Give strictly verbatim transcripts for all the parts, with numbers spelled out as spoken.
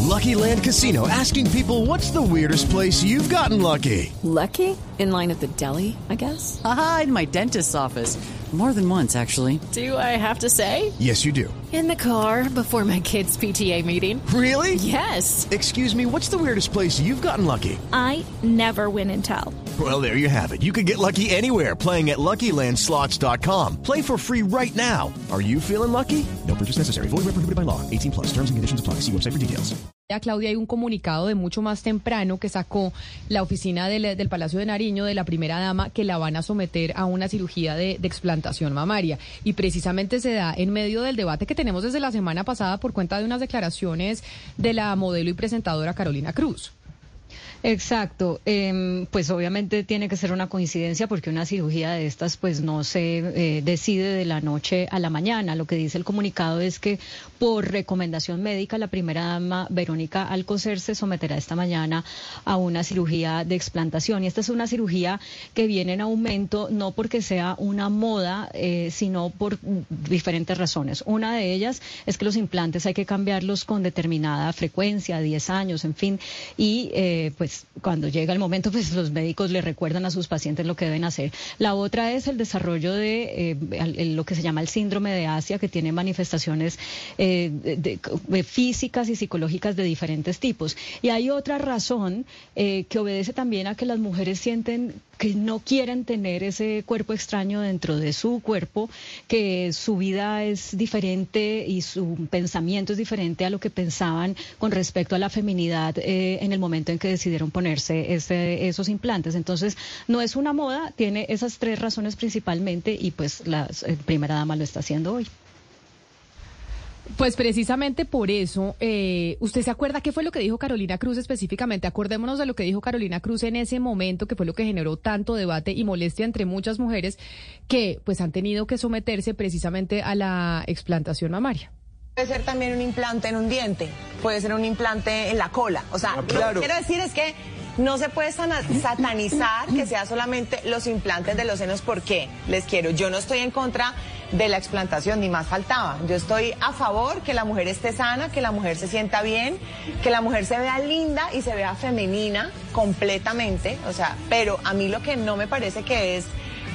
Lucky Land Casino, asking people, what's the weirdest place you've gotten lucky? Lucky? In line at the deli, I guess? Aha, in my dentist's office. More than once, actually. Do I have to say? Yes, you do. In the car before my kids' P T A meeting. Really? Yes. Excuse me, what's the weirdest place you've gotten lucky? I never win and tell. Well, there you have it. You can get lucky anywhere, playing at Lucky Land Slots dot com. Play for free right now. Are you feeling lucky? No purchase necessary. Void where prohibited by law. eighteen plus. Terms and conditions apply. See website for details. Claudia, hay un comunicado de mucho más temprano que sacó la oficina del, del Palacio de Nariño de la primera dama, que la van a someter a una cirugía de, de explantación mamaria. Y precisamente se da en medio del debate que tenemos desde la semana pasada por cuenta de unas declaraciones de la modelo y presentadora Carolina Cruz. Exacto, eh, pues obviamente tiene que ser una coincidencia porque una cirugía de estas pues no se eh, decide de la noche a la mañana. Lo que dice el comunicado es que por recomendación médica la primera dama Verónica Alcocer se someterá esta mañana a una cirugía de explantación, y esta es una cirugía que viene en aumento no porque sea una moda, eh, sino por diferentes razones. Una de ellas es que los implantes hay que cambiarlos con determinada frecuencia, diez años, en fin, y eh, pues cuando llega el momento, pues los médicos le recuerdan a sus pacientes lo que deben hacer. La otra es el desarrollo de eh, lo que se llama el síndrome de Asia, que tiene manifestaciones eh, de, de físicas y psicológicas de diferentes tipos. Y hay otra razón eh, que obedece también a que las mujeres sienten que no quieren tener ese cuerpo extraño dentro de su cuerpo, que su vida es diferente y su pensamiento es diferente a lo que pensaban con respecto a la feminidad eh, en el momento en que decidieron ponerse ese, esos implantes. Entonces, no es una moda, tiene esas tres razones principalmente, y pues la eh, primera dama lo está haciendo hoy. Pues precisamente por eso, eh, ¿usted se acuerda qué fue lo que dijo Carolina Cruz específicamente? Acordémonos de lo que dijo Carolina Cruz en ese momento, que fue lo que generó tanto debate y molestia entre muchas mujeres que pues han tenido que someterse precisamente a la explantación mamaria. Puede ser también un implante en un diente, puede ser un implante en la cola. O sea, ah, claro. Lo que quiero decir es que no se puede satanizar que sea solamente los implantes de los senos. ¿Por qué? Les quiero, yo no estoy en contra de la explantación, ni más faltaba. Yo estoy a favor que la mujer esté sana, que la mujer se sienta bien, que la mujer se vea linda y se vea femenina completamente. O sea, pero a mí lo que no me parece que es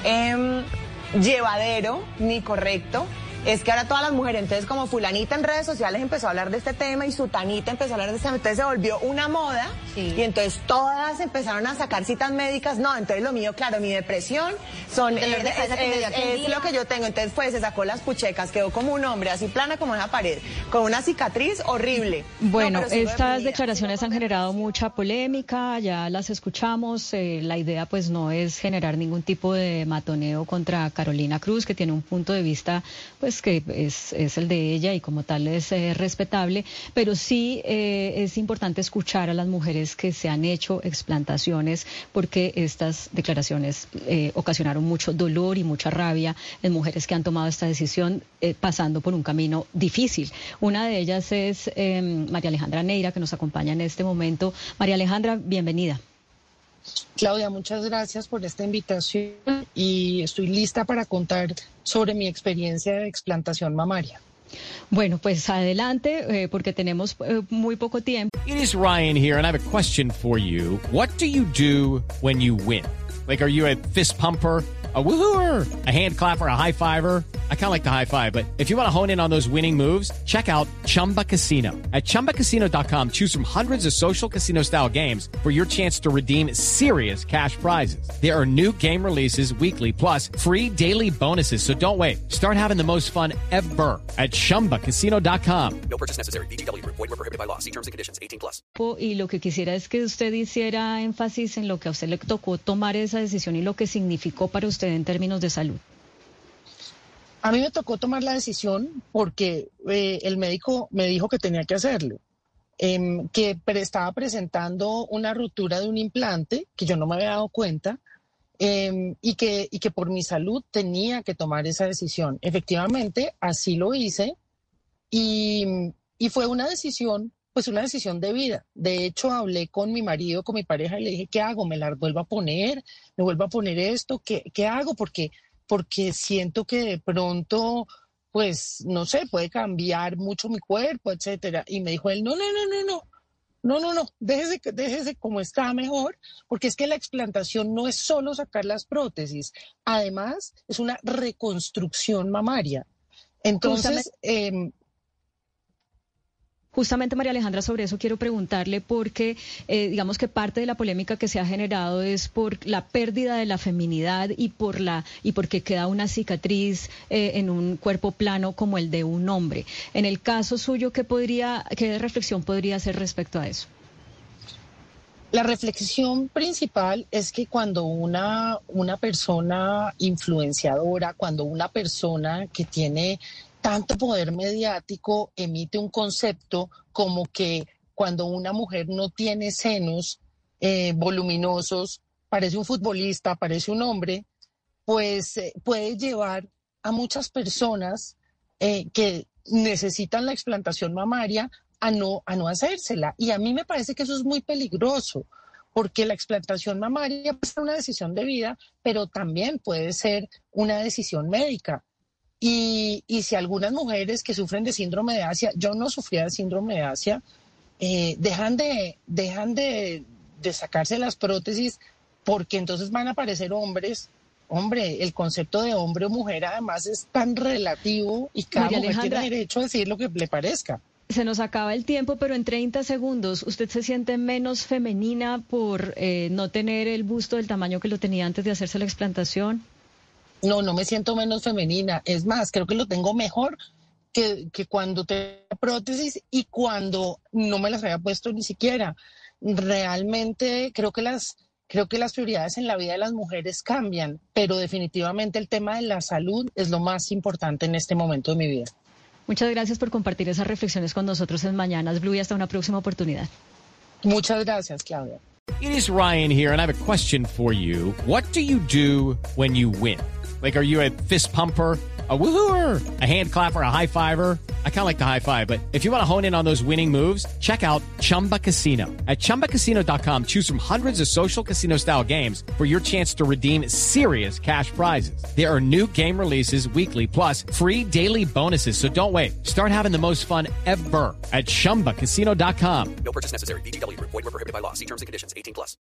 eh, llevadero ni correcto es que ahora todas las mujeres, entonces como fulanita en redes sociales empezó a hablar de este tema y sutanita empezó a hablar de este tema, entonces se volvió una moda, sí. Y entonces todas empezaron a sacar citas médicas. No, entonces lo mío, claro, mi depresión son es, es, es, es lo que yo tengo. Entonces pues se sacó las puchecas, quedó como un hombre, así plana como esa pared, con una cicatriz horrible. Bueno, no, estas declaraciones han generado mucha polémica, ya las escuchamos. Eh, la idea pues no es generar ningún tipo de matoneo contra Carolina Cruz, que tiene un punto de vista pues que es, es el de ella y como tal es eh, respetable, pero sí eh, es importante escuchar a las mujeres que se han hecho explantaciones, porque estas declaraciones eh, ocasionaron mucho dolor y mucha rabia en mujeres que han tomado esta decisión eh, pasando por un camino difícil. Una de ellas es eh, María Alejandra Neira, que nos acompaña en este momento. María Alejandra, bienvenida. Claudia, muchas gracias por esta invitación y estoy lista para contar sobre mi experiencia de explantación mamaria. Bueno, pues adelante, eh, porque tenemos eh, muy poco tiempo. It is Ryan here, and I have a question for you. What do you do when you win? Like, are you a fist pumper, a woohooer, a hand clapper, a high fiver? I kind of like the high five, but if you want to hone in on those winning moves, check out Chumba Casino. At Chumba Casino dot com, choose from hundreds of social casino-style games for your chance to redeem serious cash prizes. There are new game releases weekly, plus free daily bonuses, so don't wait. Start having the most fun ever at Chumba Casino dot com. No purchase necessary. V G W. Void where prohibited by law. See terms and conditions. eighteen plus. Y lo que quisiera es que usted hiciera énfasis en lo que a usted le tocó tomar esa decisión y lo que significó para usted en términos de salud. A mí me tocó tomar la decisión porque eh, el médico me dijo que tenía que hacerlo, eh, que pre- estaba presentando una ruptura de un implante que yo no me había dado cuenta, eh, y, que, y que por mi salud tenía que tomar esa decisión. Efectivamente, así lo hice y, y fue una decisión, pues una decisión de vida. De hecho, hablé con mi marido, con mi pareja, y le dije, ¿qué hago? ¿Me la vuelvo a poner? ¿Me vuelvo a poner esto? ¿Qué, qué hago? Porque... porque siento que de pronto, pues, no sé, puede cambiar mucho mi cuerpo, etcétera. Y me dijo él, no, no, no, no, no, no, no, no, déjese, déjese como está mejor, porque es que la explantación no es solo sacar las prótesis, además es una reconstrucción mamaria. Entonces, eh, Justamente, María Alejandra, sobre eso quiero preguntarle porque eh, digamos que parte de la polémica que se ha generado es por la pérdida de la feminidad y por la y porque queda una cicatriz eh, en un cuerpo plano como el de un hombre. En el caso suyo, ¿qué podría, qué reflexión podría hacer respecto a eso? La reflexión principal es que cuando una, una persona influenciadora, cuando una persona que tiene tanto poder mediático emite un concepto como que cuando una mujer no tiene senos eh, voluminosos, parece un futbolista, parece un hombre, pues eh, puede llevar a muchas personas eh, que necesitan la explantación mamaria a no, a no hacérsela. Y a mí me parece que eso es muy peligroso, porque la explantación mamaria puede ser una decisión de vida, pero también puede ser una decisión médica. Y, y si algunas mujeres que sufren de síndrome de Asia, yo no sufría de síndrome de Asia, eh, dejan, de, dejan de, de sacarse las prótesis porque entonces van a aparecer hombres. Hombre, el concepto de hombre o mujer además es tan relativo y cada María mujer Alejandra, tiene derecho a decir lo que le parezca. Se nos acaba el tiempo, pero en treinta segundos, ¿usted se siente menos femenina por eh, no tener el busto del tamaño que lo tenía antes de hacerse la explantación? No, no me siento menos femenina. Es más, creo que lo tengo mejor que, que cuando tenía prótesis y cuando no me las había puesto ni siquiera. Realmente creo que las, creo que las prioridades en la vida de las mujeres cambian, pero definitivamente el tema de la salud es lo más importante en este momento de mi vida. Muchas gracias por compartir esas reflexiones con nosotros en Mañanas Blue y hasta una próxima oportunidad. Muchas gracias, Claudia. It is Ryan here, and I have a question for you. What do you do when you win? Like, are you a fist pumper, a woohooer, a hand clapper, a high fiver? I kind of like the high five, but if you want to hone in on those winning moves, check out Chumba Casino. At chumba casino dot com, choose from hundreds of social casino style games for your chance to redeem serious cash prizes. There are new game releases weekly, plus free daily bonuses. So don't wait. Start having the most fun ever at chumba casino dot com. No purchase necessary. V G W. Void where prohibited by law. See terms and conditions. eighteen plus.